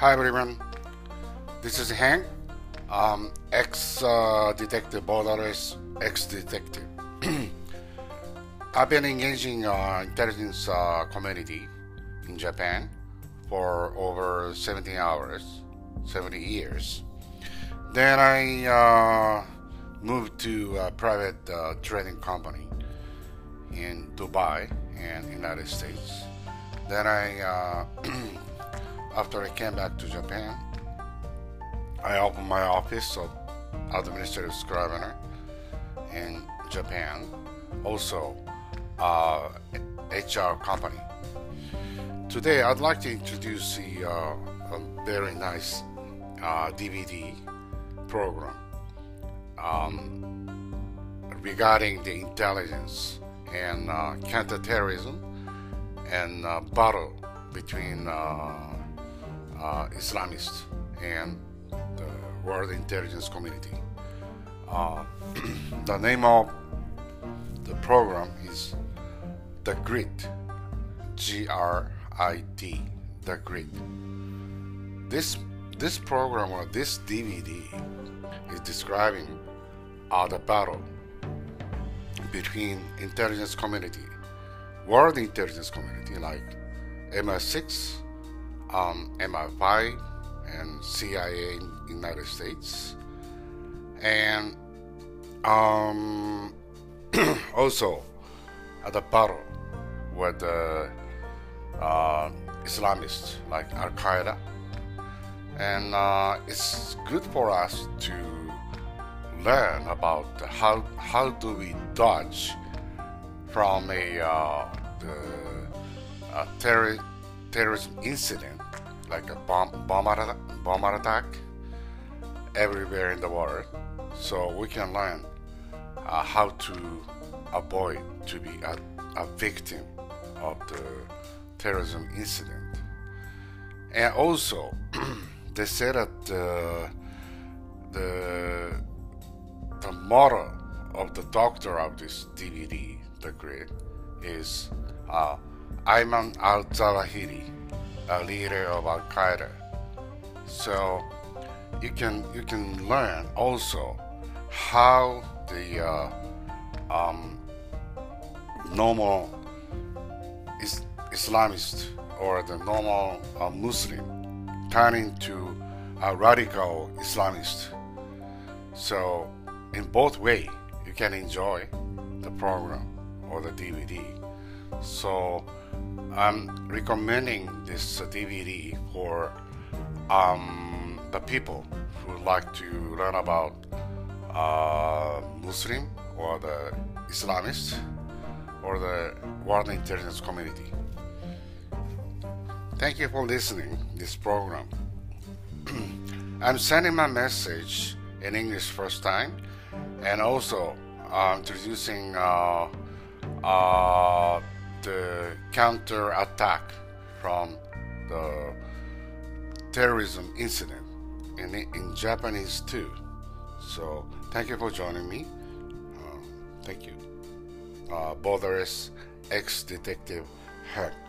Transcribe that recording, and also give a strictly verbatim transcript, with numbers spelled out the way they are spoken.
Hi everyone, this is Hank, um, ex-detective, borderless ex-detective. I've been engaging uh, intelligence uh, community in Japan for over seventy hours, seventy years. Then I uh, moved to a private uh, trading company in Dubai and United States. Then I, uh, after I came back to Japan, I opened my office of administrative scrivener in Japan, also uh, H R company. Today I'd like to introduce the, uh, a very nice uh, D V D program um, regarding the intelligence and uh, counterterrorism and uh, battle between uh, uh, Islamists and the world intelligence community. Uh, the name of the program is The Grid, G R I D, The Grid. This this program or this D V D is describing uh, the battle between intelligence community, world intelligence community like M I six, um, M I five, and C I A in United States, and um, also at the battle with the uh, Islamists like Al Qaeda, and uh, it's good for us to learn about how how do we dodge from a uh, the, uh, terror, terrorism incident like a bomb bomb, attack, bomb attack everywhere in the world, so we can learn uh, how to avoid to be a, a victim of the terrorism incident. And also they say that uh, the the motto of the doctor of this D V D, The Grid, is uh, Ayman al-Zawahiri, a leader of Al Qaeda. So you can you can learn also how the uh, um, normal is Islamist or the normal uh, Muslim turn into a radical Islamist. So in both way you can enjoy the program or the D V D. So I'm recommending this uh, D V D for um, the people who would like to learn about uh, Muslim or the Islamists or the world intelligence community. Thank you for listening to this program. I'm sending my message in English first time, and also uh, introducing uh, uh, the counter attack from the terrorism incident in, in Japanese too. So thank you for joining me. Uh, thank you. Uh, Borderless ex-detective Hank.